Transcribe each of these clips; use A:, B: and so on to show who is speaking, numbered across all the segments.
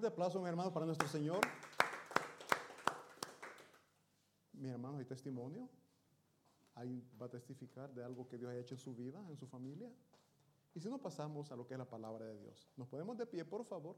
A: fuerte aplauso, mis hermanos, para nuestro Señor. Mis hermanos, ¿hay testimonio? ¿Alguien va a testificar de algo que Dios ha hecho en su vida, en su familia? Y si no, pasamos a lo que es la palabra de Dios. Nos ponemos de pie, por favor.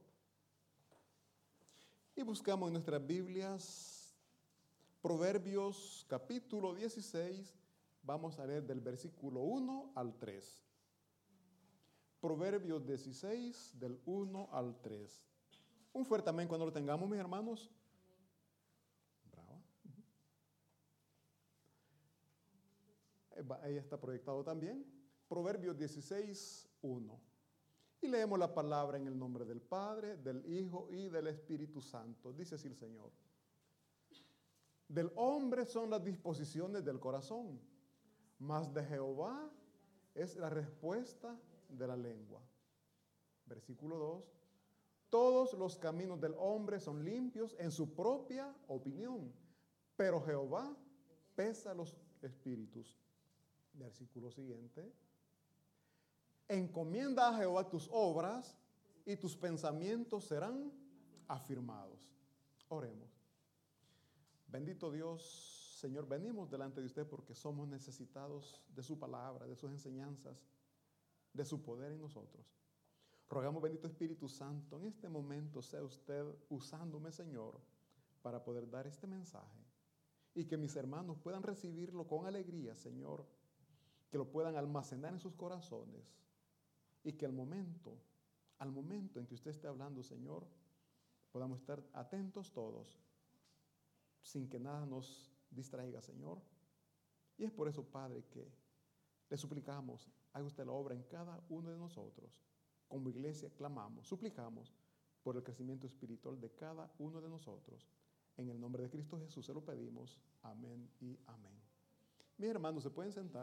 A: Y buscamos en nuestras Biblias Proverbios capítulo 16. Vamos a leer del versículo 1 al 3. Proverbios 16, del 1 al 3. Un fuerte amén cuando lo tengamos, mis hermanos. Bravo. Ahí está proyectado también. Proverbios 16, 1. Y leemos la palabra en el nombre del Padre, del Hijo y del Espíritu Santo. Dice así el Señor. Del hombre son las disposiciones del corazón, mas de Jehová es la respuesta de la lengua. Versículo 2. Todos los caminos del hombre son limpios en su propia opinión, pero Jehová pesa los espíritus. Versículo siguiente. Encomienda a Jehová tus obras y tus pensamientos serán afirmados. Oremos. Bendito Dios, Señor, venimos delante de usted porque somos necesitados de su palabra, de sus enseñanzas, de su poder en nosotros. Rogamos, bendito Espíritu Santo, en este momento sea usted usándome, Señor, para poder dar este mensaje y que mis hermanos puedan recibirlo con alegría, Señor, que lo puedan almacenar en sus corazones y que al momento en que usted esté hablando, Señor, podamos estar atentos todos, sin que nada nos distraiga, Señor. Y es por eso, Padre, que le suplicamos, haga usted la obra en cada uno de nosotros. Como iglesia clamamos, suplicamos por el crecimiento espiritual de cada uno de nosotros. En el nombre de Cristo Jesús se lo pedimos. Amén y amén. Mis hermanos, ¿se pueden sentar?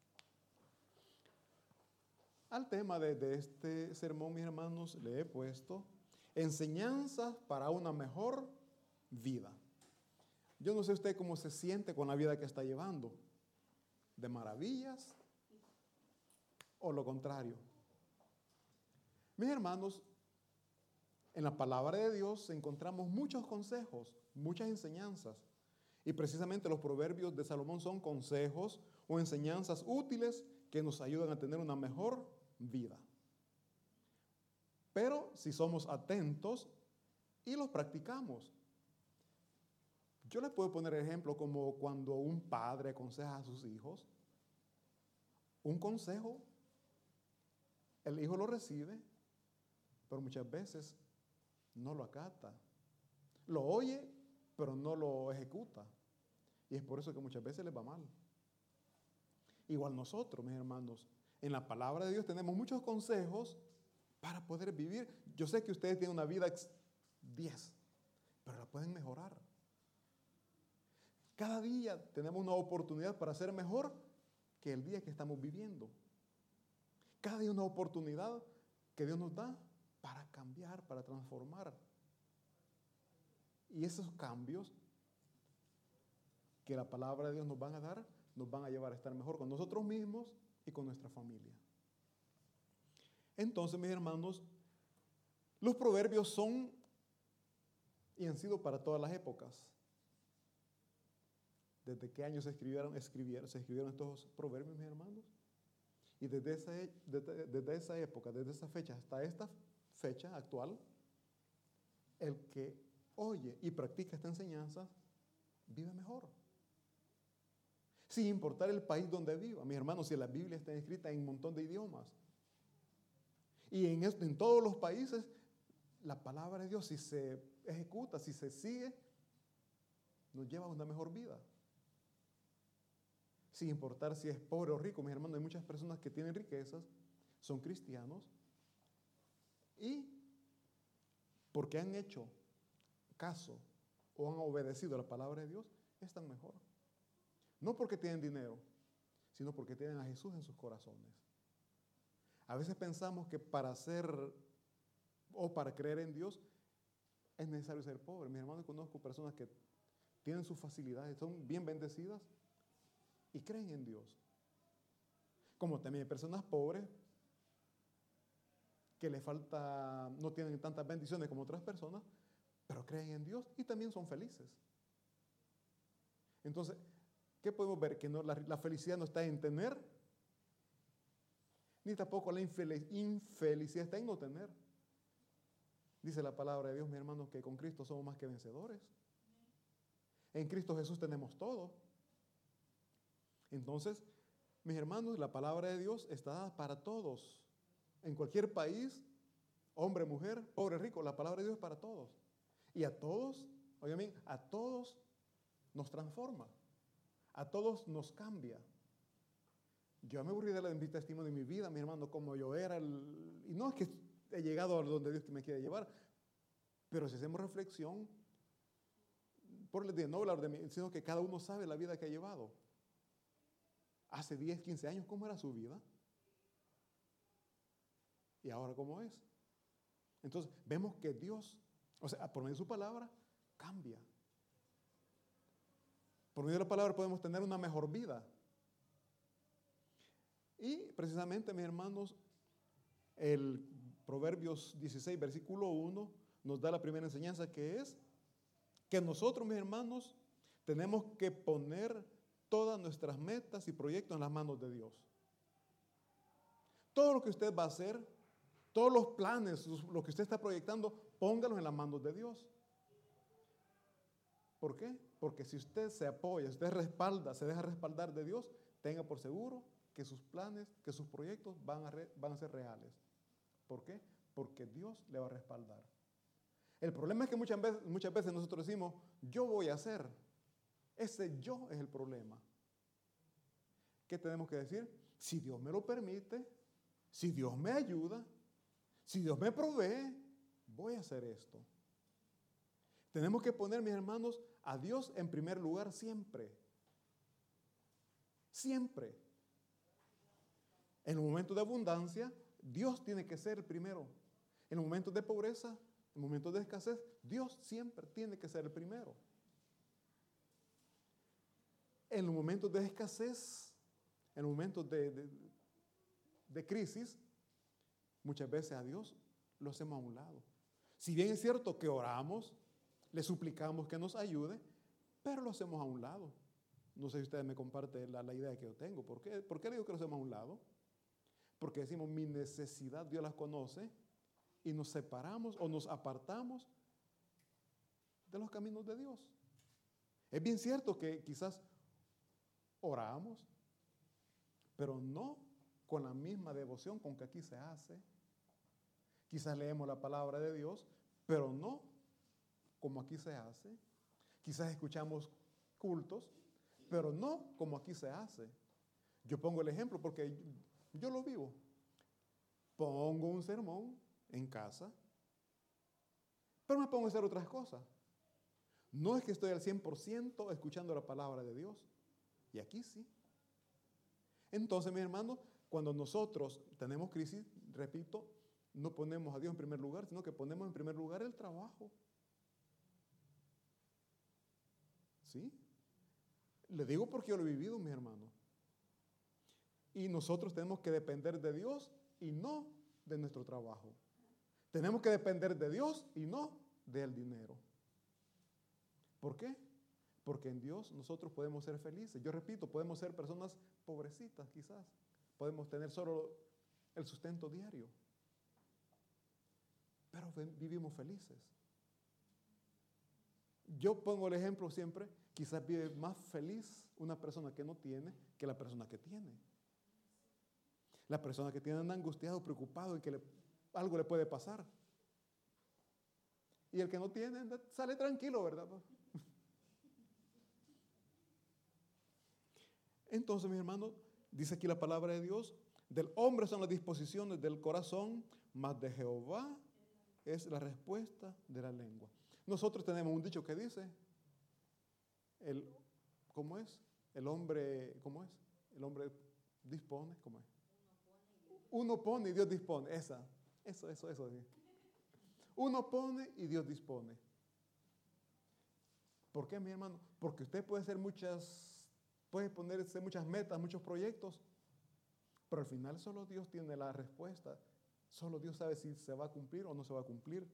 A: Al tema de este sermón, mis hermanos, le he puesto enseñanzas para una mejor vida. Yo no sé usted cómo se siente con la vida que está llevando, de maravillas o lo contrario. Mis hermanos, en la palabra de Dios encontramos muchos consejos, muchas enseñanzas. Y precisamente los proverbios de Salomón son consejos o enseñanzas útiles que nos ayudan a tener una mejor vida. Pero si somos atentos y los practicamos. Yo les puedo poner ejemplo como cuando un padre aconseja a sus hijos. Un consejo, el hijo lo recibe, pero muchas veces no lo acata. Lo oye, pero no lo ejecuta. Y es por eso que muchas veces les va mal. Igual nosotros, mis hermanos, en la palabra de Dios tenemos muchos consejos para poder vivir. Yo sé que ustedes tienen una vida 10, pero la pueden mejorar. Cada día tenemos una oportunidad para ser mejor que el día que estamos viviendo. Cada día una oportunidad que Dios nos da para cambiar, para transformar. Y esos cambios que la palabra de Dios nos van a dar, nos van a llevar a estar mejor con nosotros mismos y con nuestra familia. Entonces, mis hermanos, los proverbios son y han sido para todas las épocas. ¿Desde qué años se escribieron estos proverbios, mis hermanos? Y desde esa época, desde esa fecha hasta esta fecha actual, el que oye y practica esta enseñanza vive mejor. Sin importar el país donde viva. Mis hermanos, si la Biblia está escrita en un montón de idiomas. Y en todos los países, la palabra de Dios, si se ejecuta, si se sigue, nos lleva a una mejor vida. Sin importar si es pobre o rico, mis hermanos, hay muchas personas que tienen riquezas, son cristianos, y porque han hecho caso o han obedecido a la palabra de Dios, están mejor. No porque tienen dinero, sino porque tienen a Jesús en sus corazones. A veces pensamos que para ser o para creer en Dios es necesario ser pobre. Mis hermanos, conozco personas que tienen sus facilidades, son bien bendecidas y creen en Dios. Como también hay personas pobres que le falta, no tienen tantas bendiciones como otras personas, pero creen en Dios y también son felices. Entonces, ¿qué podemos ver? Que no, la felicidad no está en tener, ni tampoco la infelicidad está en no tener. Dice la palabra de Dios, mis hermanos, que con Cristo somos más que vencedores. En Cristo Jesús tenemos todo. Entonces, mis hermanos, la palabra de Dios está dada para todos. En cualquier país, hombre, mujer, pobre, rico, la palabra de Dios es para todos. Y a todos, oigan bien, a todos nos transforma. A todos nos cambia. Yo me aburrí de dar mi testimonio de mi vida, mi hermano, como yo era. Y no es que he llegado a donde Dios me quiere llevar, pero si hacemos reflexión, no hablar de mí, sino que cada uno sabe la vida que ha llevado. Hace 10, 15 años, ¿cómo era su vida? ¿Y ahora cómo es? Entonces, vemos que Dios, o sea, por medio de su palabra, cambia. Por medio de la palabra podemos tener una mejor vida. Y precisamente, mis hermanos, el Proverbios 16, versículo 1, nos da la primera enseñanza, que es que nosotros, mis hermanos, tenemos que poner todas nuestras metas y proyectos en las manos de Dios. Todo lo que usted va a hacer, todos los planes, lo que usted está proyectando, póngalos en las manos de Dios. ¿Por qué? Porque si usted se apoya, usted respalda, se deja respaldar de Dios, tenga por seguro que sus planes, que sus proyectos van a ser reales. ¿Por qué? Porque Dios le va a respaldar. El problema es que muchas veces nosotros decimos, yo voy a hacer. Ese yo es el problema. ¿Qué tenemos que decir? Si Dios me lo permite, si Dios me ayuda, si Dios me provee, voy a hacer esto. Tenemos que poner, mis hermanos, a Dios en primer lugar siempre. Siempre. En los momentos de abundancia, Dios tiene que ser el primero. En los momentos de pobreza, en momentos de escasez, Dios siempre tiene que ser el primero. En los momentos de escasez, en los momentos de crisis, muchas veces a Dios lo hacemos a un lado. Si bien es cierto que oramos, le suplicamos que nos ayude, pero lo hacemos a un lado. No sé si ustedes me comparten la idea que yo tengo. ¿Por qué? ¿Por qué le digo que lo hacemos a un lado? Porque decimos, mi necesidad Dios las conoce, y nos separamos o nos apartamos de los caminos de Dios. Es bien cierto que quizás oramos, pero no con la misma devoción con que aquí se hace. Quizás leemos la palabra de Dios, pero no como aquí se hace. Quizás escuchamos cultos, pero no como aquí se hace. Yo pongo el ejemplo porque yo lo vivo. Pongo un sermón en casa, pero me pongo a hacer otras cosas. No es que estoy al 100% escuchando la palabra de Dios, y aquí sí. Entonces, mis hermanos, cuando nosotros tenemos crisis, repito, no ponemos a Dios en primer lugar, sino que ponemos en primer lugar el trabajo. ¿Sí? Le digo porque yo lo he vivido, mis hermanos. Y nosotros tenemos que depender de Dios y no de nuestro trabajo. Tenemos que depender de Dios y no del dinero. ¿Por qué? Porque en Dios nosotros podemos ser felices. Yo repito, podemos ser personas pobrecitas quizás. Podemos tener solo el sustento diario. Pero vivimos felices. Yo pongo el ejemplo siempre, quizás vive más feliz una persona que no tiene que la persona que tiene. La persona que tiene anda angustiado, preocupado en que algo le puede pasar. Y el que no tiene sale tranquilo, ¿verdad? Entonces, mis hermanos, dice aquí la palabra de Dios, del hombre son las disposiciones del corazón, mas de Jehová es la respuesta de la lengua. Nosotros tenemos un dicho que dice, ¿cómo es? El hombre, ¿cómo es? El hombre dispone, ¿cómo es? Uno pone y Dios dispone. Eso. Sí. Uno pone y Dios dispone. ¿Por qué, mi hermano? Porque usted puede ponerse muchas metas, muchos proyectos, pero al final solo Dios tiene la respuesta. Solo Dios sabe si se va a cumplir o no se va a cumplir.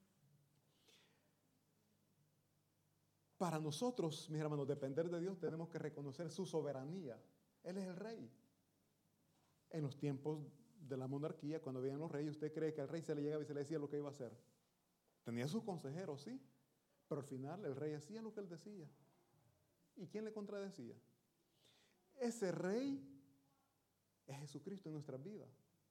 A: Para nosotros, mis hermanos, depender de Dios, tenemos que reconocer su soberanía. Él es el rey. En los tiempos de la monarquía, cuando veían los reyes, ¿usted cree que al rey se le llegaba y se le decía lo que iba a hacer? Tenía sus consejeros, sí, pero al final el rey hacía lo que él decía. ¿Y quién le contradecía? Ese rey es Jesucristo en nuestras vidas.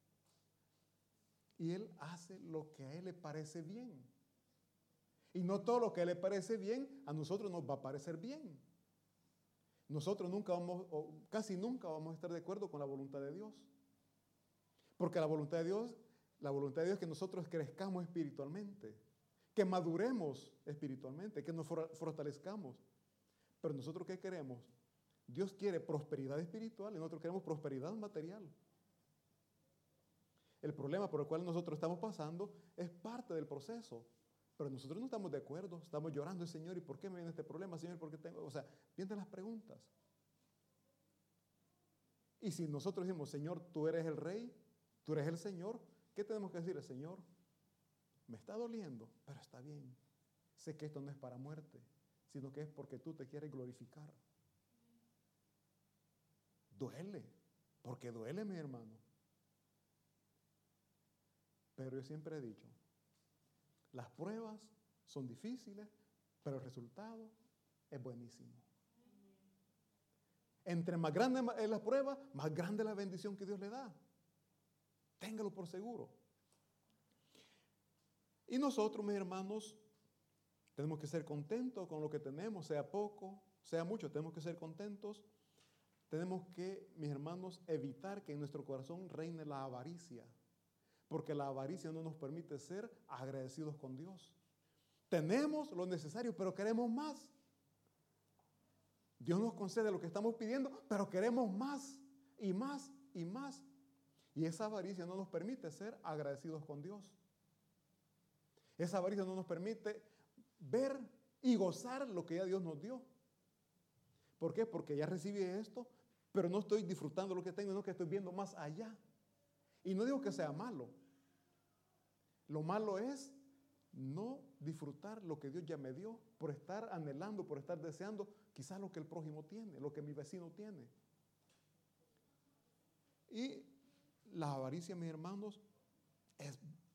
A: Y Él hace lo que a Él le parece bien. Y no todo lo que a Él le parece bien, a nosotros nos va a parecer bien. Nosotros nunca vamos, o casi nunca vamos a estar de acuerdo con la voluntad de Dios. Porque la voluntad de Dios es que nosotros crezcamos espiritualmente, que maduremos espiritualmente, que nos fortalezcamos. Pero nosotros, ¿qué queremos? Dios quiere prosperidad espiritual y nosotros queremos prosperidad material. El problema por el cual nosotros estamos pasando es parte del proceso. Pero nosotros no estamos de acuerdo, estamos llorando, Señor, ¿y por qué me viene este problema, Señor? ¿Por qué tengo? O sea, vienen las preguntas. Y si nosotros decimos, Señor, tú eres el Rey, tú eres el Señor, ¿qué tenemos que decirle? Señor, me está doliendo, pero está bien. Sé que esto no es para muerte, sino que es porque tú te quieres glorificar. Duele, porque duele, mi hermano. Pero yo siempre he dicho, las pruebas son difíciles, pero el resultado es buenísimo. Entre más grande es la prueba, más grande es la bendición que Dios le da. Téngalo por seguro. Y nosotros, mis hermanos, tenemos que ser contentos con lo que tenemos, sea poco, sea mucho, tenemos que ser contentos. Tenemos que, mis hermanos, evitar que en nuestro corazón reine la avaricia. Porque la avaricia no nos permite ser agradecidos con Dios. Tenemos lo necesario, pero queremos más. Dios nos concede lo que estamos pidiendo, pero queremos más y más y más. Y esa avaricia no nos permite ser agradecidos con Dios. Esa avaricia no nos permite ver y gozar lo que ya Dios nos dio. ¿Por qué? Porque ya recibí esto, pero no estoy disfrutando lo que tengo, sino que estoy viendo más allá. Y no digo que sea malo. Lo malo es no disfrutar lo que Dios ya me dio por estar anhelando, por estar deseando quizás lo que el prójimo tiene, lo que mi vecino tiene. Y la avaricia, mis hermanos, es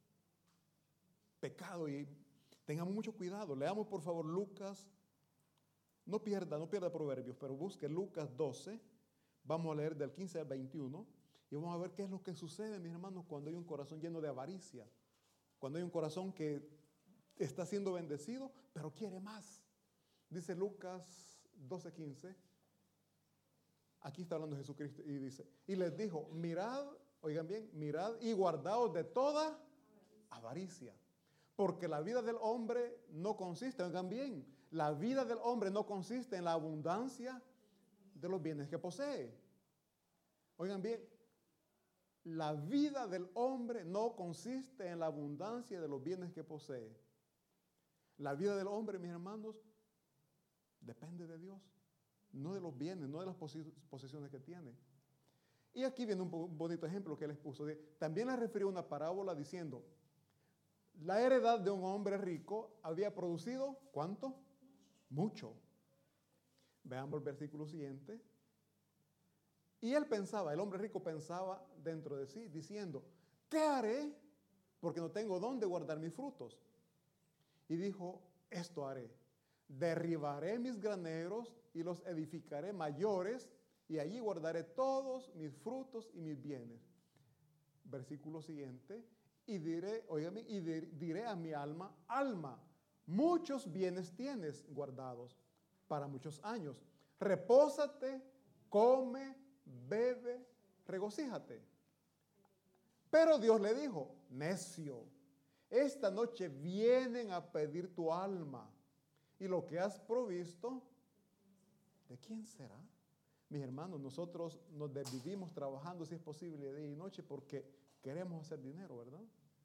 A: pecado y tengamos mucho cuidado. Leamos por favor Lucas, no pierda Proverbios, pero busque Lucas 12, vamos a leer del 15 al 21 y vamos a ver qué es lo que sucede, mis hermanos, cuando hay un corazón lleno de avaricia. Cuando hay un corazón que está siendo bendecido, pero quiere más. Dice Lucas 12:15. Aquí está hablando Jesucristo y dice, y les dijo, mirad, oigan bien, mirad y guardaos de toda avaricia. Porque la vida del hombre no consiste, oigan bien, la vida del hombre no consiste en la abundancia de los bienes que posee. Oigan bien, la vida del hombre no consiste en la abundancia de los bienes que posee. La vida del hombre, mis hermanos, depende de Dios, no de los bienes, no de las posesiones que tiene. Y aquí viene un bonito ejemplo que él les puso. También les refirió una parábola diciendo, la heredad de un hombre rico había producido, ¿cuánto? Mucho. Veamos el versículo siguiente. Y él pensaba, el hombre rico pensaba dentro de sí, diciendo, ¿qué haré? Porque no tengo dónde guardar mis frutos. Y dijo, esto haré. Derribaré mis graneros y los edificaré mayores, y allí guardaré todos mis frutos y mis bienes. Versículo siguiente. Y diré, óigame, y diré a mi alma, alma, muchos bienes tienes guardados para muchos años. Repósate, come, bebe, regocíjate. Pero Dios le dijo, necio, esta noche vienen a pedir tu alma y lo que has provisto, ¿de quién será? Mis hermanos, nosotros nos desvivimos trabajando, si es posible, de día y noche porque queremos hacer dinero, ¿verdad?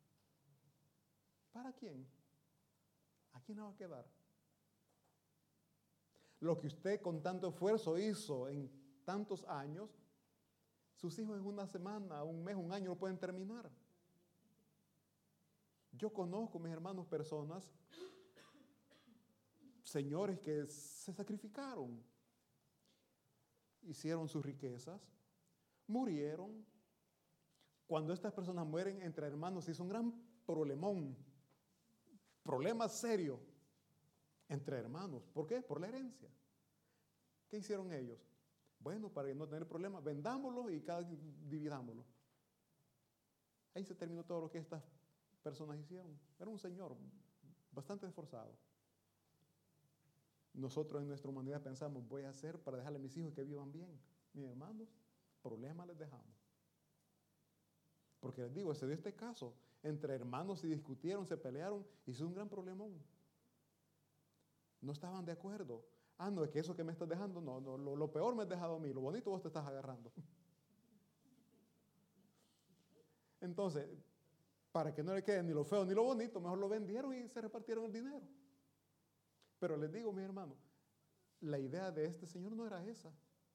A: ¿Para quién? ¿A quién le va a quedar? Lo que usted con tanto esfuerzo hizo en tantos años, sus hijos en una semana, un mes, un año lo pueden terminar. Yo conozco, mis hermanos, personas, señores que se sacrificaron, hicieron sus riquezas, murieron. Cuando estas personas mueren entre hermanos, es un gran problemón, problema serio entre hermanos. ¿Por qué? Por la herencia. ¿Qué hicieron ellos? Bueno, para no tener problemas, vendámoslo y dividámoslo. Ahí se terminó todo lo que estas personas hicieron. Era un señor bastante esforzado. Nosotros en nuestra humanidad pensamos, voy a hacer para dejarle a mis hijos que vivan bien. Mis hermanos, problemas les dejamos. Porque les digo, se dio este caso. Entre hermanos se discutieron, se pelearon, hizo un gran problemón. No estaban de acuerdo. Ah, no, es que eso que me estás dejando, no, lo peor me has dejado a mí, lo bonito vos te estás agarrando. Entonces, para que no le quede ni lo feo ni lo bonito, mejor lo vendieron y se repartieron el dinero. Pero les digo, mis hermanos, la idea de este señor no era esa.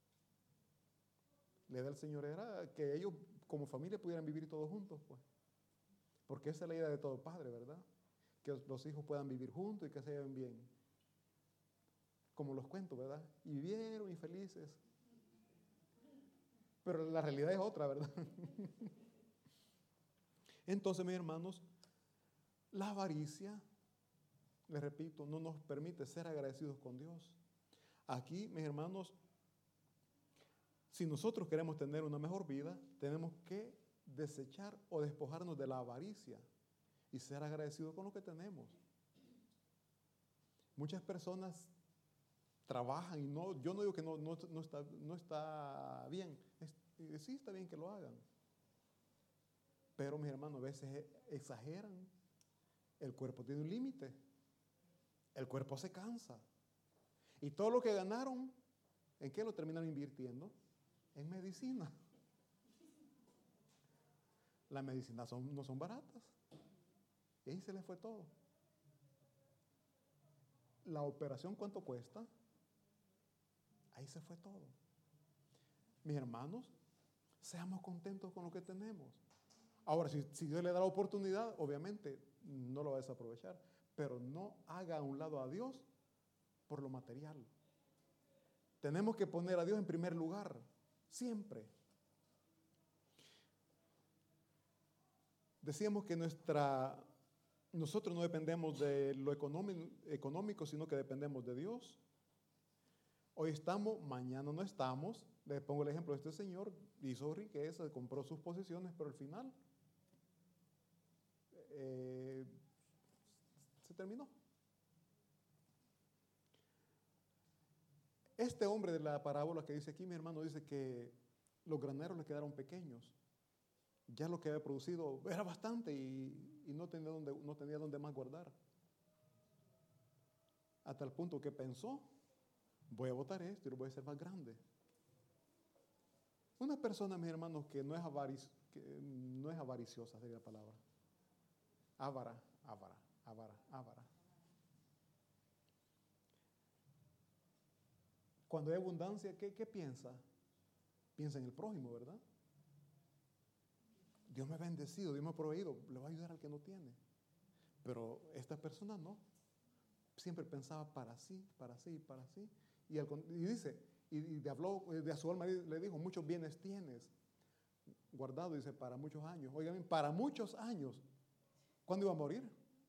A: La idea del Señor era que ellos como familia pudieran vivir todos juntos, pues. Porque esa es la idea de todo padre, ¿verdad? Que los hijos puedan vivir juntos y que se lleven bien. Como los cuento, ¿verdad? Y vivieron y felices. Pero la realidad es otra, ¿verdad? Entonces, mis hermanos, la avaricia, les repito, no nos permite ser agradecidos con Dios. Aquí, mis hermanos, si nosotros queremos tener una mejor vida, tenemos que desechar o despojarnos de la avaricia y ser agradecidos con lo que tenemos. Muchas personas trabajan y yo no digo que no está bien. Sí está bien que lo hagan. Pero, mis hermanos, a veces exageran. El cuerpo tiene un límite. El cuerpo se cansa. Y todo lo que ganaron, ¿en qué lo terminan invirtiendo? En medicina. Las medicinas no son baratas. Y ahí se les fue todo. La operación, ¿cuánto cuesta? Ahí se fue todo. Mis hermanos, seamos contentos con lo que tenemos. Ahora, si Dios le da la oportunidad, obviamente no lo va a desaprovechar. Pero no haga a un lado a Dios por lo material. Tenemos que poner a Dios en primer lugar, siempre. Decíamos que nosotros no dependemos de lo económico, sino que dependemos de Dios. Hoy estamos, mañana no estamos. Les pongo el ejemplo de este señor, hizo riqueza, compró sus posesiones, pero al final se terminó. Este hombre de la parábola que dice aquí, mi hermano, dice que los graneros le quedaron pequeños. Ya lo que había producido era bastante y no tenía dónde más guardar. Hasta el punto que pensó, voy a botar esto y lo voy a hacer más grande. Una persona, mis hermanos, que no es avariciosa, sería la palabra. Avara. Cuando hay abundancia, ¿qué piensa? Piensa en el prójimo, ¿verdad? Dios me ha bendecido, Dios me ha proveído, le va a ayudar al que no tiene. Pero esta persona no. Siempre pensaba para sí. Y dice, y habló de su alma, le dijo, muchos bienes tienes guardado, dice, para muchos años. Oigan, para muchos años. ¿Cuándo iba a morir?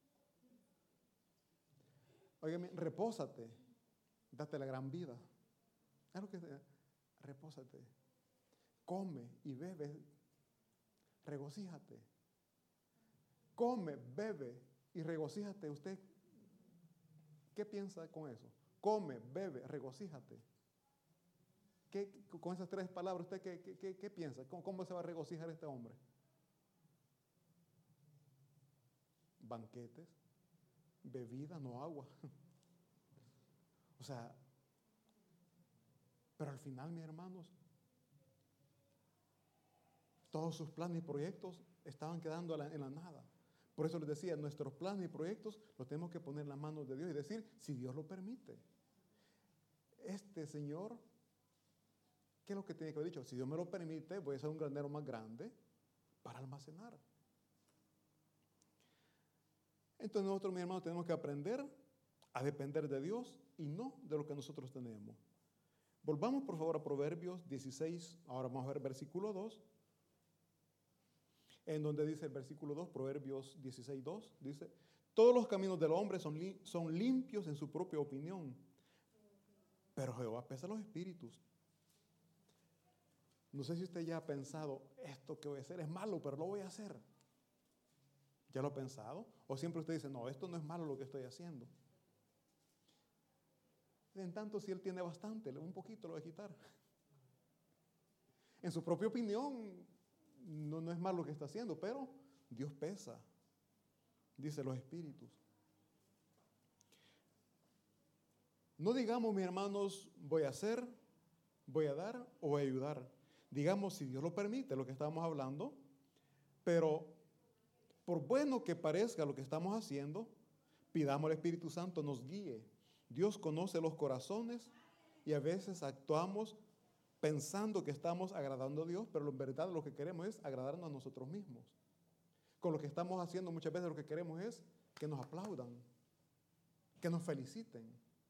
A: Oigan, repósate, date la gran vida. Es lo que repósate, come y bebe, regocíjate. Come, bebe y regocíjate. ¿Usted qué piensa con eso? Come, bebe, regocíjate. Con esas tres palabras, ¿usted qué piensa? ¿Cómo se va a regocijar este hombre? Banquetes, bebida, no agua. O sea, pero al final, mis hermanos, todos sus planes y proyectos estaban quedando en la nada. Por eso les decía, nuestros planes y proyectos los tenemos que poner en las manos de Dios y decir, si Dios lo permite. Este señor, ¿qué es lo que tiene que haber dicho? Si Dios me lo permite, voy a hacer un granero más grande para almacenar. Entonces nosotros, mis hermanos, tenemos que aprender a depender de Dios y no de lo que nosotros tenemos. Volvamos por favor a Proverbios 16, ahora vamos a ver versículo 2, en donde dice el versículo 2, Proverbios 16, 2, dice: todos los caminos del hombre son limpios en su propia opinión, pero Jehová pesa los espíritus. No sé si usted ya ha pensado, esto que voy a hacer es malo, pero lo voy a hacer. ¿Ya lo ha pensado? O siempre usted dice, no, esto no es malo lo que estoy haciendo. En tanto, si él tiene bastante, un poquito lo va a quitar. En su propia opinión, no es malo lo que está haciendo, pero Dios pesa, dice los espíritus. No digamos, mis hermanos, voy a hacer, voy a dar o voy a ayudar. Digamos, si Dios lo permite, lo que estamos hablando, pero por bueno que parezca lo que estamos haciendo, pidamos al Espíritu Santo nos guíe. Dios conoce los corazones y a veces actuamos pensando que estamos agradando a Dios, pero en verdad lo que queremos es agradarnos a nosotros mismos. Con lo que estamos haciendo muchas veces lo que queremos es que nos aplaudan, que nos feliciten.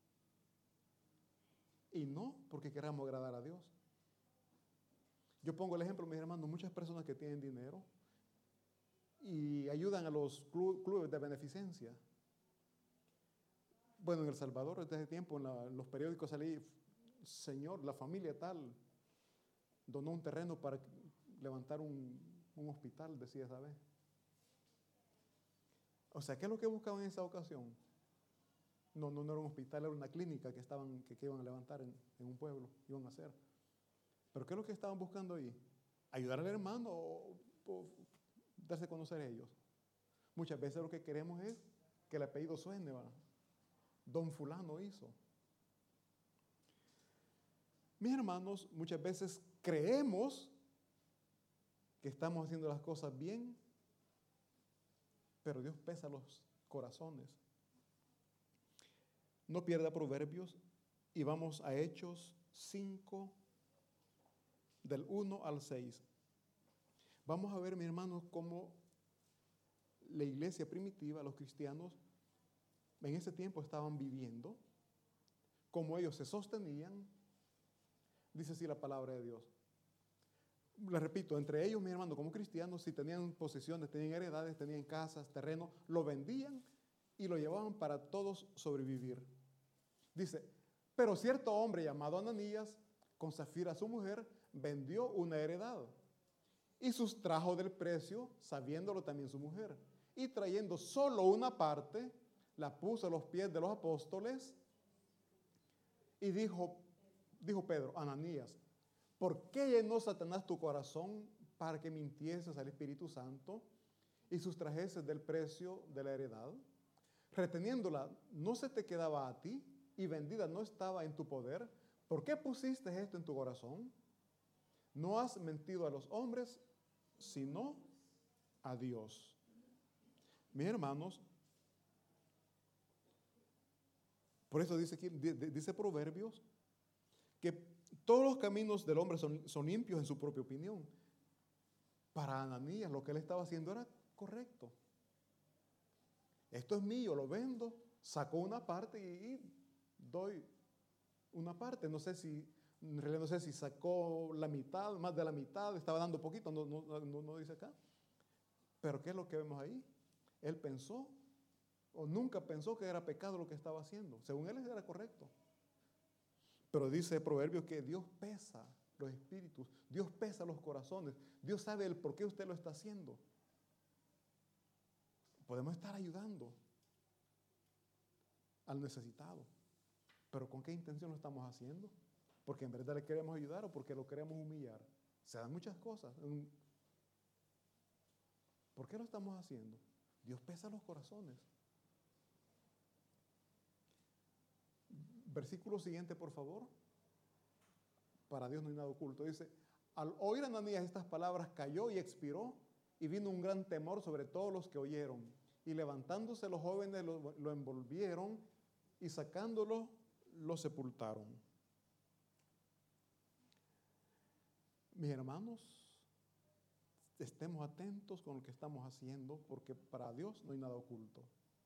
A: Y no porque queramos agradar a Dios. Yo pongo el ejemplo, mis hermanos, muchas personas que tienen dinero y ayudan a los clubes de beneficencia. Bueno, en El Salvador, desde hace tiempo, en los periódicos salí, señor, la familia tal donó un terreno para levantar un hospital, decía esa vez. O sea, ¿qué es lo que buscaban en esa ocasión? No era un hospital, era una clínica que iban a levantar en un pueblo, iban a hacer. ¿Pero qué es lo que estaban buscando ahí? ¿Ayudar al hermano o darse a conocer a ellos? Muchas veces lo que queremos es que el apellido suene, ¿va? Don fulano hizo. Mis hermanos, muchas veces creemos que estamos haciendo las cosas bien, pero Dios pesa los corazones. No pierda Proverbios y vamos a Hechos 5, del 1 al 6. Vamos a ver, mis hermanos, cómo la iglesia primitiva, los cristianos, en ese tiempo estaban viviendo, cómo ellos se sostenían. Dice así la palabra de Dios. Les repito, entre ellos, mis hermanos, como cristianos, si tenían posesiones, tenían heredades, tenían casas, terrenos, lo vendían y lo llevaban para todos sobrevivir. Dice, pero cierto hombre llamado Ananías, con Zafira su mujer, vendió una heredad y sustrajo del precio, sabiéndolo también su mujer, y trayendo solo una parte, la puso a los pies de los apóstoles y dijo Pedro, Ananías, ¿por qué llenó Satanás tu corazón para que mintieses al Espíritu Santo y sustrajeses del precio de la heredad? Reteniéndola, ¿no se te quedaba a ti y vendida no estaba en tu poder? ¿Por qué pusiste esto en tu corazón? No has mentido a los hombres, sino a Dios. Mis hermanos, por eso dice Proverbios, que todos los caminos del hombre son limpios en su propia opinión. Para Ananías lo que él estaba haciendo era correcto. Esto es mío, lo vendo, saco una parte y doy una parte. En realidad no sé si sacó la mitad, más de la mitad, estaba dando poquito, no dice acá. Pero ¿qué es lo que vemos ahí? Él pensó, o nunca pensó que era pecado lo que estaba haciendo. Según él era correcto. Pero dice Proverbios que Dios pesa los espíritus, Dios pesa los corazones, Dios sabe el por qué usted lo está haciendo. Podemos estar ayudando al necesitado, pero ¿con qué intención lo estamos haciendo? ¿Porque en verdad le queremos ayudar o porque lo queremos humillar? Se dan muchas cosas. ¿Por qué lo estamos haciendo? Dios pesa los corazones. Versículo siguiente, por favor. Para Dios no hay nada oculto. Dice, al oír Ananías estas palabras, cayó y expiró, y vino un gran temor sobre todos los que oyeron. Y levantándose los jóvenes lo envolvieron y sacándolo lo sepultaron. Mis hermanos, estemos atentos con lo que estamos haciendo, porque para Dios no hay nada oculto.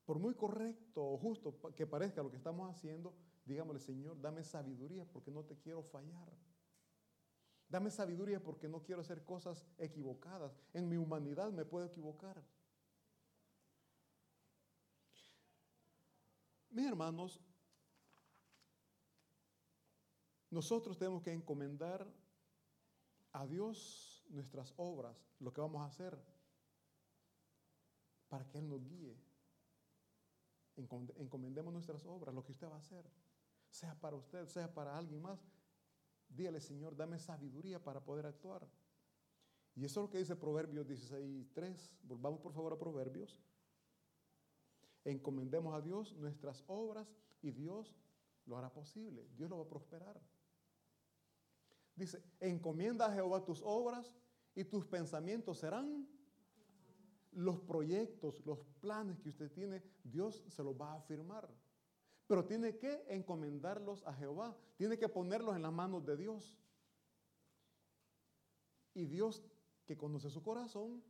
A: por muy correcto o justo que parezca lo que estamos haciendo, digámosle, Señor, dame sabiduría porque no te quiero fallar. Dame sabiduría porque no quiero hacer cosas equivocadas. En mi humanidad me puedo equivocar. Mis hermanos, nosotros tenemos que encomendar a Dios nuestras obras, lo que vamos a hacer, para que Él nos guíe. Encomendemos nuestras obras, lo que usted va a hacer, sea para usted, sea para alguien más. Dígale, Señor, dame sabiduría para poder actuar. Y eso es lo que dice Proverbios 16:3. Volvamos por favor a Proverbios. Encomendemos a Dios nuestras obras y Dios lo hará posible. Dios lo va a prosperar. Dice, encomienda a Jehová tus obras y tus pensamientos serán. Los proyectos, los planes que usted tiene, Dios se los va a afirmar. Pero tiene que encomendarlos a Jehová. Tiene que ponerlos en las manos de Dios. Y Dios, que conoce su corazón,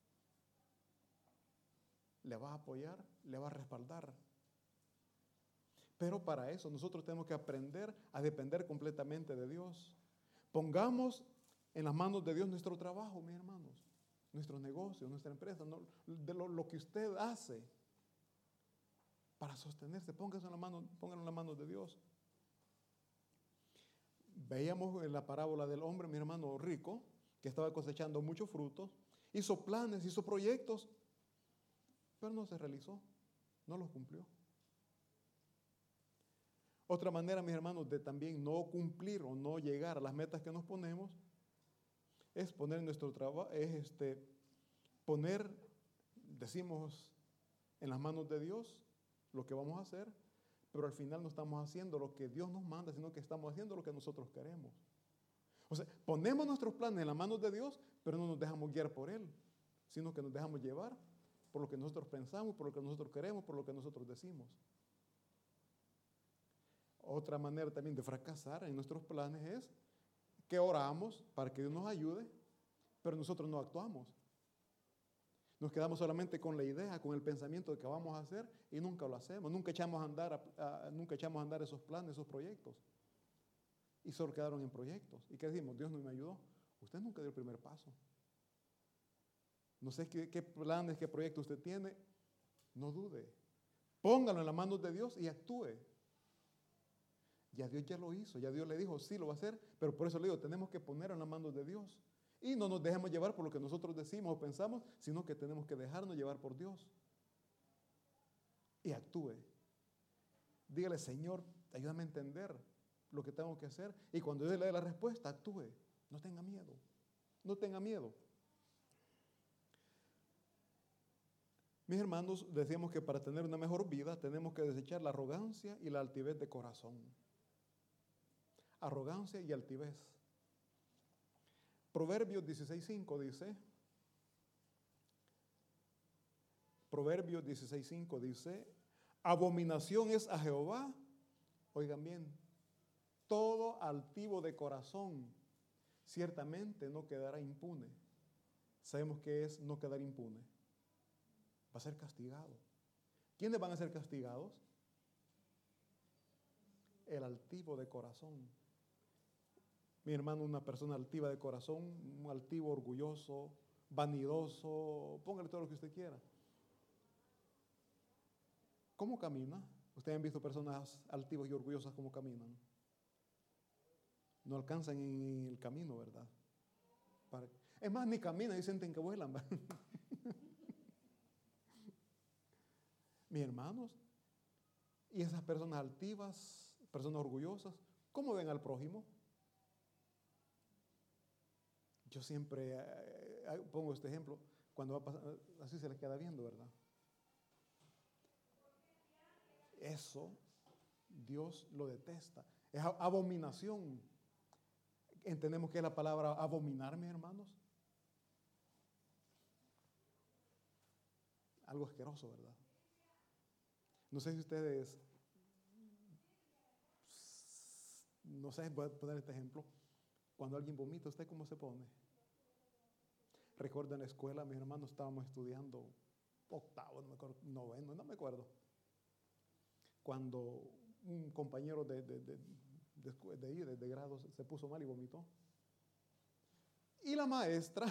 A: le va a apoyar, le va a respaldar. Pero para eso nosotros tenemos que aprender a depender completamente de Dios. Pongamos en las manos de Dios nuestro trabajo, mis hermanos, nuestros negocios, nuestra empresa, ¿no? Lo que usted hace para sostenerse, póngalo en las manos de Dios. Veíamos en la parábola del hombre, mi hermano rico, que estaba cosechando muchos frutos, hizo planes, hizo proyectos, pero no se realizó, no los cumplió. Otra manera, mis hermanos, de también no cumplir o no llegar a las metas que nos ponemos, es poner nuestro trabajo, decimos, en las manos de Dios lo que vamos a hacer, pero al final no estamos haciendo lo que Dios nos manda, sino que estamos haciendo lo que nosotros queremos. O sea, ponemos nuestros planes en las manos de Dios, pero no nos dejamos guiar por Él, sino que nos dejamos llevar por lo que nosotros pensamos, por lo que nosotros queremos, por lo que nosotros decimos. Otra manera también de fracasar en nuestros planes es que oramos para que Dios nos ayude, pero nosotros no actuamos. Nos quedamos solamente con la idea, con el pensamiento de que vamos a hacer y nunca lo hacemos. Nunca echamos a andar esos planes, esos proyectos. Y solo quedaron en proyectos. ¿Y qué decimos? Dios no me ayudó. Usted nunca dio el primer paso. No sé qué planes, qué proyectos usted tiene. No dude. Póngalo en las manos de Dios y actúe. Ya Dios ya lo hizo. Ya Dios le dijo, sí lo va a hacer. Pero por eso le digo, tenemos que ponerlo en las manos de Dios. Y no nos dejemos llevar por lo que nosotros decimos o pensamos, sino que tenemos que dejarnos llevar por Dios. Y actúe. Dígale, Señor, ayúdame a entender lo que tengo que hacer. Y cuando Dios le dé la respuesta, actúe. No tenga miedo. No tenga miedo. Mis hermanos, decíamos que para tener una mejor vida tenemos que desechar la arrogancia y la altivez de corazón. Arrogancia y altivez. Proverbios 16:5 dice, abominación es a Jehová, oigan bien, todo altivo de corazón, ciertamente no quedará impune. Sabemos qué es no quedar impune. Va a ser castigado. ¿Quiénes van a ser castigados? El altivo de corazón. Mi hermano, una persona altiva de corazón, un altivo, orgulloso, vanidoso, póngale todo lo que usted quiera. ¿Cómo camina? Ustedes han visto personas altivas y orgullosas cómo caminan. No alcanzan en el camino, ¿verdad? Es más, ni caminan y sienten que vuelan. Mis hermanos, y esas personas altivas, personas orgullosas, ¿cómo ven al prójimo? Yo siempre pongo este ejemplo, cuando va a pasar, así se les queda viendo, ¿verdad? Eso Dios lo detesta. Es abominación. ¿Entendemos qué es la palabra abominar, mis hermanos? Algo asqueroso, ¿verdad? No sé si ustedes, no sé, voy a poner este ejemplo. Cuando alguien vomita, ¿usted cómo se pone? Recuerdo en la escuela, mis hermanos estábamos estudiando octavo, no me acuerdo, noveno, no me acuerdo. Cuando un compañero de grado se puso mal y vomitó. Y la maestra,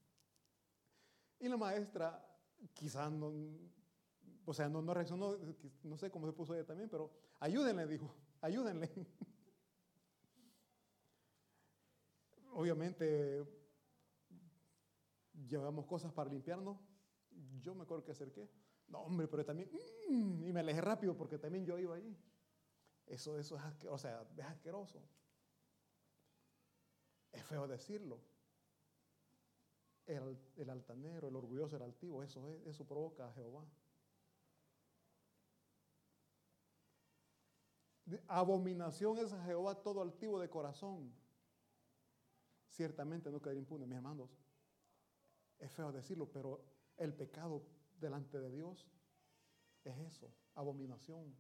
A: quizás no, o sea, no reaccionó, no sé cómo se puso ella también, pero ayúdenle, dijo, ayúdenle. Obviamente llevamos cosas para limpiarnos. Yo me acuerdo que acerqué. No, hombre, pero también, y me alejé rápido porque también yo iba ahí. Eso es asqueroso, o sea, es asqueroso. Es feo decirlo. El altanero, el orgulloso, el altivo, eso provoca a Jehová. Abominación es a Jehová todo altivo de corazón. Ciertamente no quedará impune, mis hermanos. Es feo decirlo, pero el pecado delante de Dios es eso, abominación.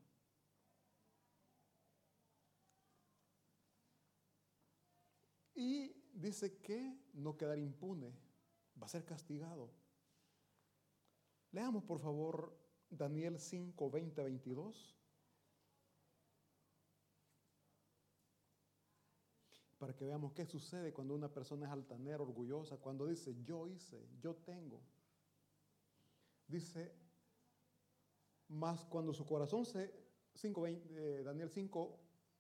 A: Y dice que no quedará impune, va a ser castigado. Leamos por favor Daniel 5, 20, 22. Para que veamos qué sucede cuando una persona es altanera, orgullosa, cuando dice yo hice, yo tengo. Dice, más cuando su corazón Daniel 5,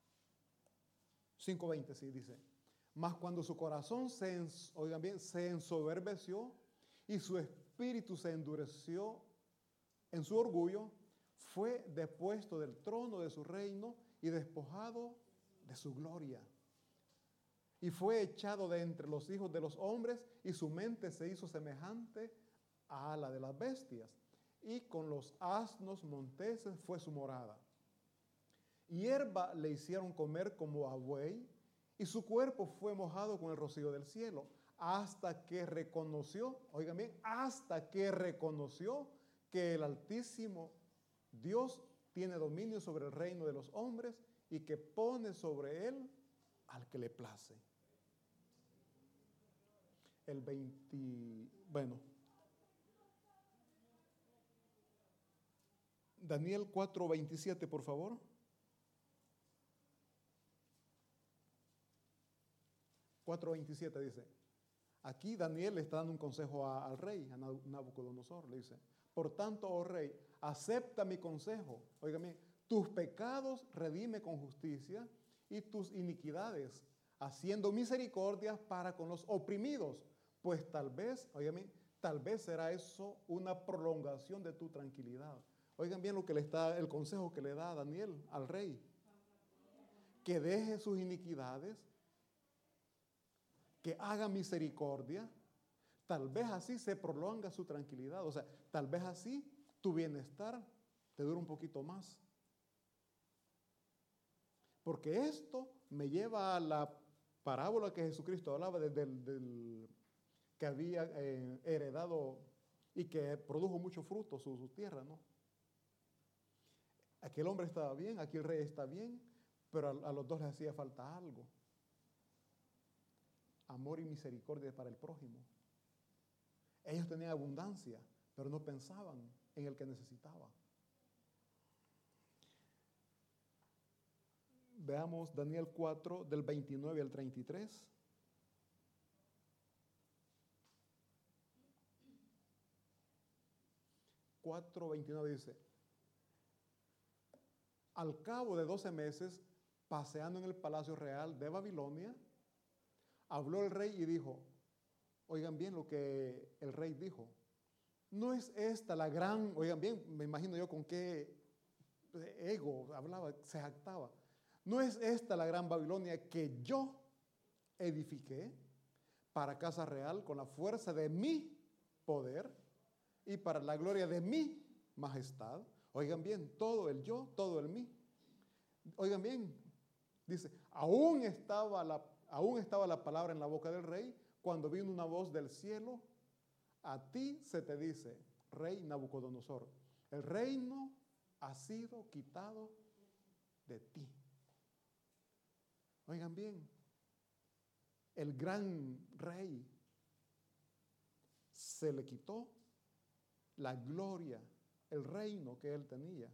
A: 5:20, sí, dice, mas cuando su corazón oigan bien, se ensoberbeció y su espíritu se endureció en su orgullo, fue depuesto del trono de su reino y despojado de su gloria. Y fue echado de entre los hijos de los hombres y su mente se hizo semejante a la de las bestias. Y con los asnos monteses fue su morada. Hierba le hicieron comer como a buey y su cuerpo fue mojado con el rocío del cielo hasta que reconoció, oigan bien, hasta que reconoció que el Altísimo Dios tiene dominio sobre el reino de los hombres y que pone sobre él al que le place. Daniel 4:27, por favor. 4:27 dice, aquí Daniel le está dando un consejo al rey, a Nabucodonosor, le dice, por tanto, oh rey, acepta mi consejo, óigame, tus pecados redime con justicia y tus iniquidades, haciendo misericordia para con los oprimidos, pues tal vez, óigame, tal vez será eso una prolongación de tu tranquilidad. Oigan bien el consejo que le da Daniel al rey, que deje sus iniquidades, que haga misericordia, tal vez así se prolonga su tranquilidad, o sea, tal vez así tu bienestar te dura un poquito más. Porque esto me lleva a la parábola que Jesucristo hablaba del que había heredado y que produjo mucho fruto su tierra, ¿no? Aquel hombre estaba bien, aquí el rey está bien, pero a los dos les hacía falta algo. Amor y misericordia para el prójimo. Ellos tenían abundancia, pero no pensaban en el que necesitaba. Veamos Daniel 4, del 29 al 33. Cuatro 29 dice, al cabo de 12 meses, paseando en el palacio real de Babilonia, habló el rey y dijo, oigan bien lo que el rey dijo, no es esta la gran, oigan bien, me imagino yo con qué ego hablaba, se jactaba, no es esta la gran Babilonia que yo edifiqué para casa real con la fuerza de mi poder y para la gloria de mi majestad. Oigan bien, todo el yo, todo el mí. Oigan bien, dice, aún estaba la palabra en la boca del rey cuando vino una voz del cielo, a ti se te dice, rey Nabucodonosor, el reino ha sido quitado de ti. Oigan bien, el gran rey se le quitó la gloria, el reino que él tenía.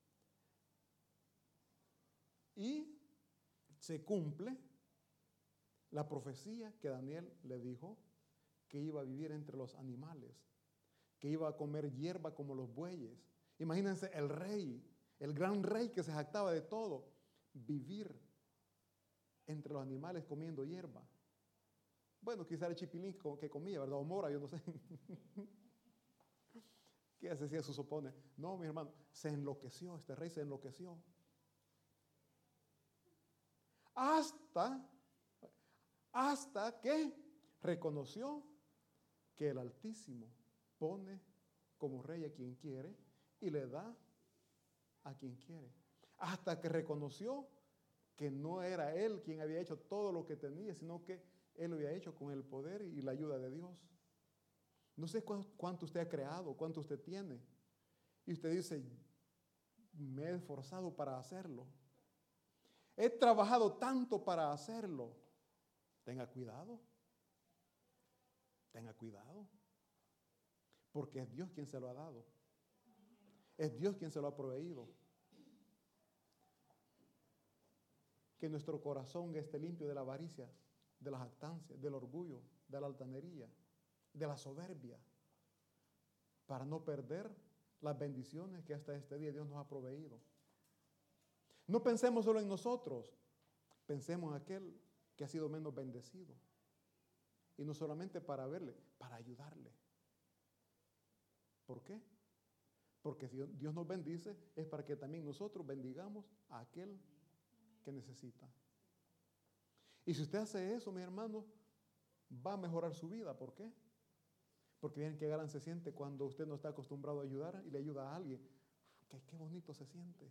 A: Y se cumple la profecía que Daniel le dijo, que iba a vivir entre los animales, que iba a comer hierba como los bueyes. Imagínense el rey, el gran rey que se jactaba de todo, vivir entre los animales comiendo hierba. Bueno, quizá el chipilín que comía, ¿verdad? O mora, yo no sé. ¿Qué decía su supone? No, mi hermano, se enloqueció, este rey se enloqueció. Hasta que reconoció que el Altísimo pone como rey a quien quiere y le da a quien quiere. Hasta que reconoció que no era él quien había hecho todo lo que tenía, sino que él lo había hecho con el poder y la ayuda de Dios. No sé cuánto usted ha creado, cuánto usted tiene. Y usted dice, me he esforzado para hacerlo. He trabajado tanto para hacerlo. Tenga cuidado. Tenga cuidado. Porque es Dios quien se lo ha dado. Es Dios quien se lo ha proveído. Que nuestro corazón esté limpio de la avaricia, de la jactancia, del orgullo, de la altanería, de la soberbia, para no perder las bendiciones que hasta este día Dios nos ha proveído. No pensemos solo en nosotros, pensemos en aquel que ha sido menos bendecido. Y no solamente para verle, para ayudarle. ¿Por qué? Porque si Dios nos bendice es para que también nosotros bendigamos a aquel que necesita. Y si usted hace eso, mis hermanos, va a mejorar su vida. ¿Por qué? Porque miren qué gran se siente cuando usted no está acostumbrado a ayudar y le ayuda a alguien. Qué bonito se siente.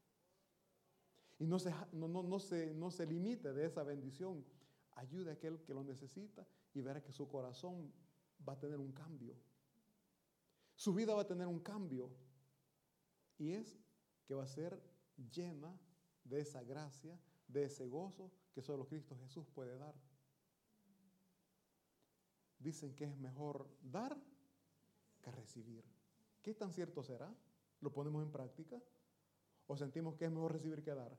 A: Y no se limite de esa bendición. Ayude a aquel que lo necesita y verá que su corazón va a tener un cambio. Su vida va a tener un cambio. Y es que va a ser llena de esa gracia, de ese gozo que solo Cristo Jesús puede dar. Dicen que es mejor dar que recibir. ¿Qué tan cierto será? ¿Lo ponemos en práctica? ¿O sentimos que es mejor recibir que dar?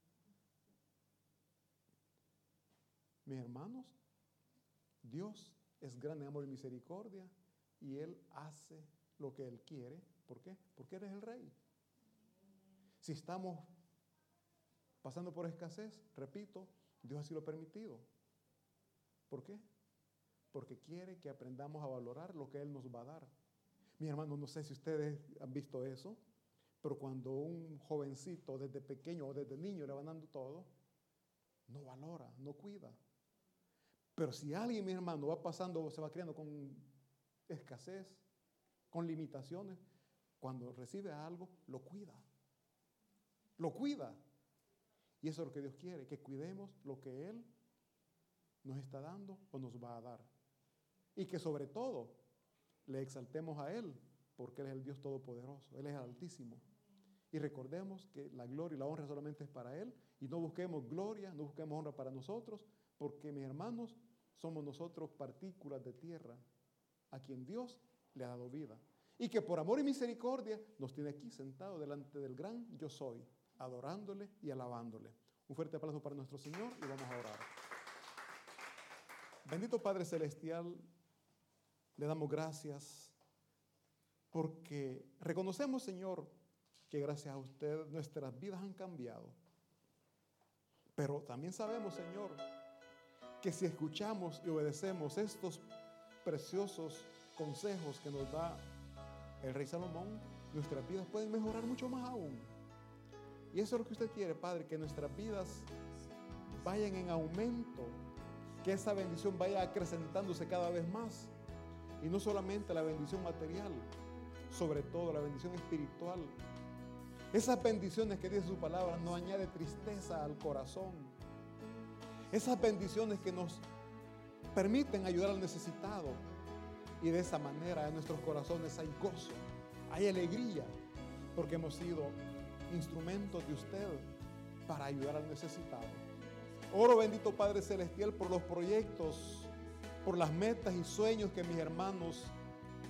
A: Mis hermanos, Dios es grande en amor y misericordia y Él hace lo que Él quiere. ¿Por qué? Porque Él es el Rey. Si estamos pasando por escasez, repito, Dios así lo ha permitido. ¿Por qué? Porque quiere que aprendamos a valorar lo que Él nos va a dar. Mi hermano, no sé si ustedes han visto eso, pero cuando un jovencito desde pequeño o desde niño le van dando todo, no valora, no cuida. Pero si alguien, mi hermano, va pasando, se va criando con escasez, con limitaciones, cuando recibe algo, lo cuida. Lo cuida. Y eso es lo que Dios quiere, que cuidemos lo que Él nos está dando o nos va a dar. Y que sobre todo le exaltemos a Él, porque Él es el Dios Todopoderoso, Él es el Altísimo. Y recordemos que la gloria y la honra solamente es para Él, y no busquemos gloria, no busquemos honra para nosotros, porque mis hermanos, somos nosotros partículas de tierra, a quien Dios le ha dado vida. Y que por amor y misericordia nos tiene aquí sentados delante del gran Yo Soy, adorándole y alabándole. Un fuerte aplauso para nuestro Señor y vamos a orar. Bendito Padre Celestial, le damos gracias porque reconocemos, Señor, que gracias a usted nuestras vidas han cambiado. Pero también sabemos, Señor, que si escuchamos y obedecemos estos preciosos consejos que nos da el Rey Salomón, nuestras vidas pueden mejorar mucho más aún. Y eso es lo que usted quiere, Padre, que nuestras vidas vayan en aumento, que esa bendición vaya acrecentándose cada vez más. Y no solamente la bendición material, sobre todo la bendición espiritual. Esas bendiciones que dice su palabra no añade tristeza al corazón. Esas bendiciones que nos permiten ayudar al necesitado. Y de esa manera en nuestros corazones hay gozo, hay alegría, porque hemos sido instrumentos de usted para ayudar al necesitado. Oro, bendito Padre Celestial, por los proyectos, por las metas y sueños que mis hermanos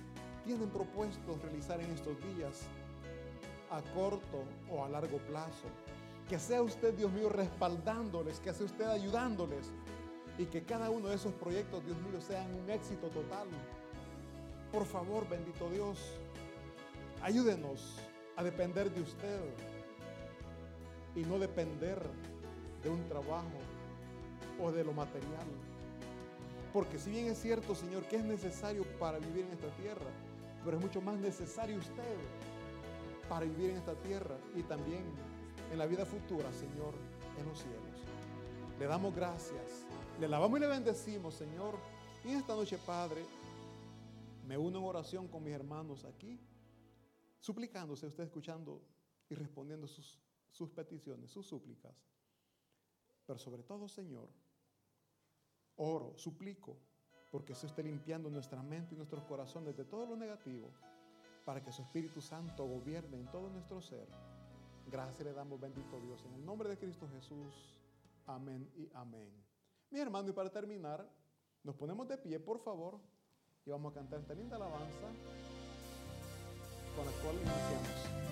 A: tienen propuestos realizar en estos días, a corto o a largo plazo. Que sea usted, Dios mío, respaldándoles, que sea usted ayudándoles y que cada uno de esos proyectos, Dios mío, sean un éxito total. Por favor, bendito Dios, ayúdenos a depender de usted y no depender de un trabajo o de lo material. Porque si bien es cierto, Señor, que es necesario para vivir en esta tierra, pero es mucho más necesario usted para vivir en esta tierra y también en la vida futura, Señor, en los cielos. Le damos gracias, le alabamos y le bendecimos, Señor. Y en esta noche, Padre, me uno en oración con mis hermanos aquí, suplicándose, usted escuchando y respondiendo sus peticiones, sus súplicas. Pero sobre todo, Señor, oro, suplico, porque se esté limpiando nuestra mente y nuestros corazones de todo lo negativo, para que su Espíritu Santo gobierne en todo nuestro ser. Gracias le damos, bendito Dios, en el nombre de Cristo Jesús. Amén y amén. Mi hermano, y para terminar, nos ponemos de pie, por favor, y vamos a cantar esta linda alabanza con la cual iniciamos.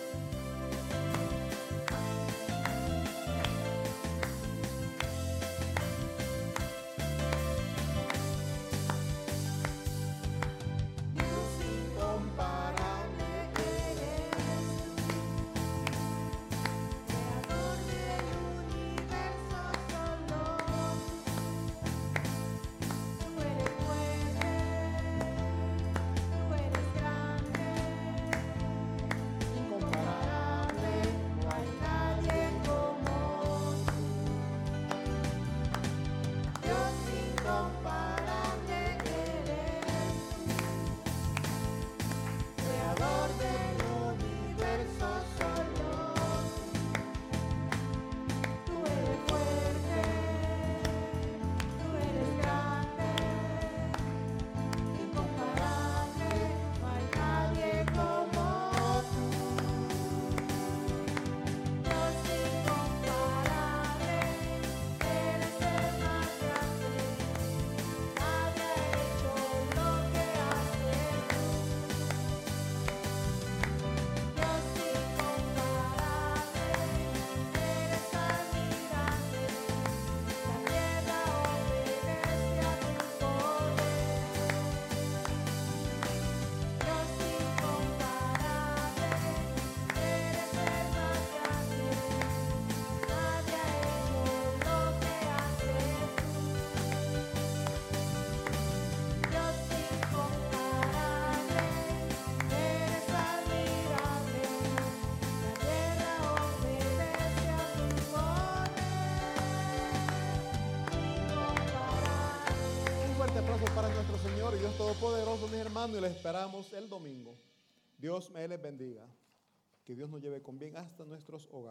A: Para nuestro Señor y Dios Todopoderoso, mis hermanos, y les esperamos el domingo. Dios me les bendiga. Que Dios nos lleve con bien hasta nuestros hogares.